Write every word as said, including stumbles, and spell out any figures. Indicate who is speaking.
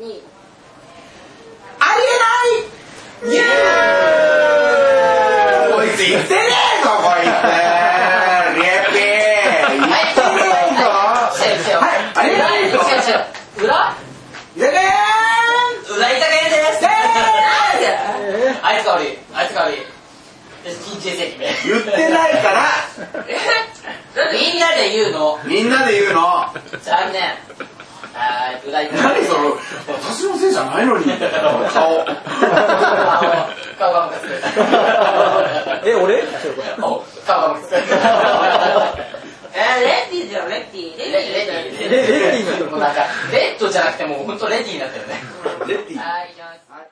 Speaker 1: に
Speaker 2: ありえないイエーイこいつ言ってねえぞこいつリエピー言ってねえぞはいありえないぞ
Speaker 1: 裏
Speaker 2: いやね
Speaker 1: 裏板芸ですあいつが悪いあいつが悪い人生責任
Speaker 2: 言ってないから
Speaker 1: みんなで言うの
Speaker 2: みんなで言うの
Speaker 1: 残念はい裏板
Speaker 2: 何その私のせいじゃないのにみたいな顔
Speaker 1: 顔がムカつく
Speaker 3: え、俺？
Speaker 1: 顔がムカつくえー、レッティじゃん、レッティレッティレッティ
Speaker 3: レッティ
Speaker 1: もうなんかレッドじゃなくてもうほんとレッティになったよね
Speaker 2: レッティ
Speaker 1: はい、いきます